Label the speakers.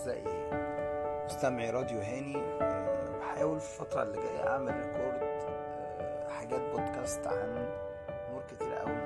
Speaker 1: أعزائي مستمعي راديو هاني، بحاول في الفترة اللي جاية أعمل ريكورد حاجات بودكاست عن أمور كتيرة أوي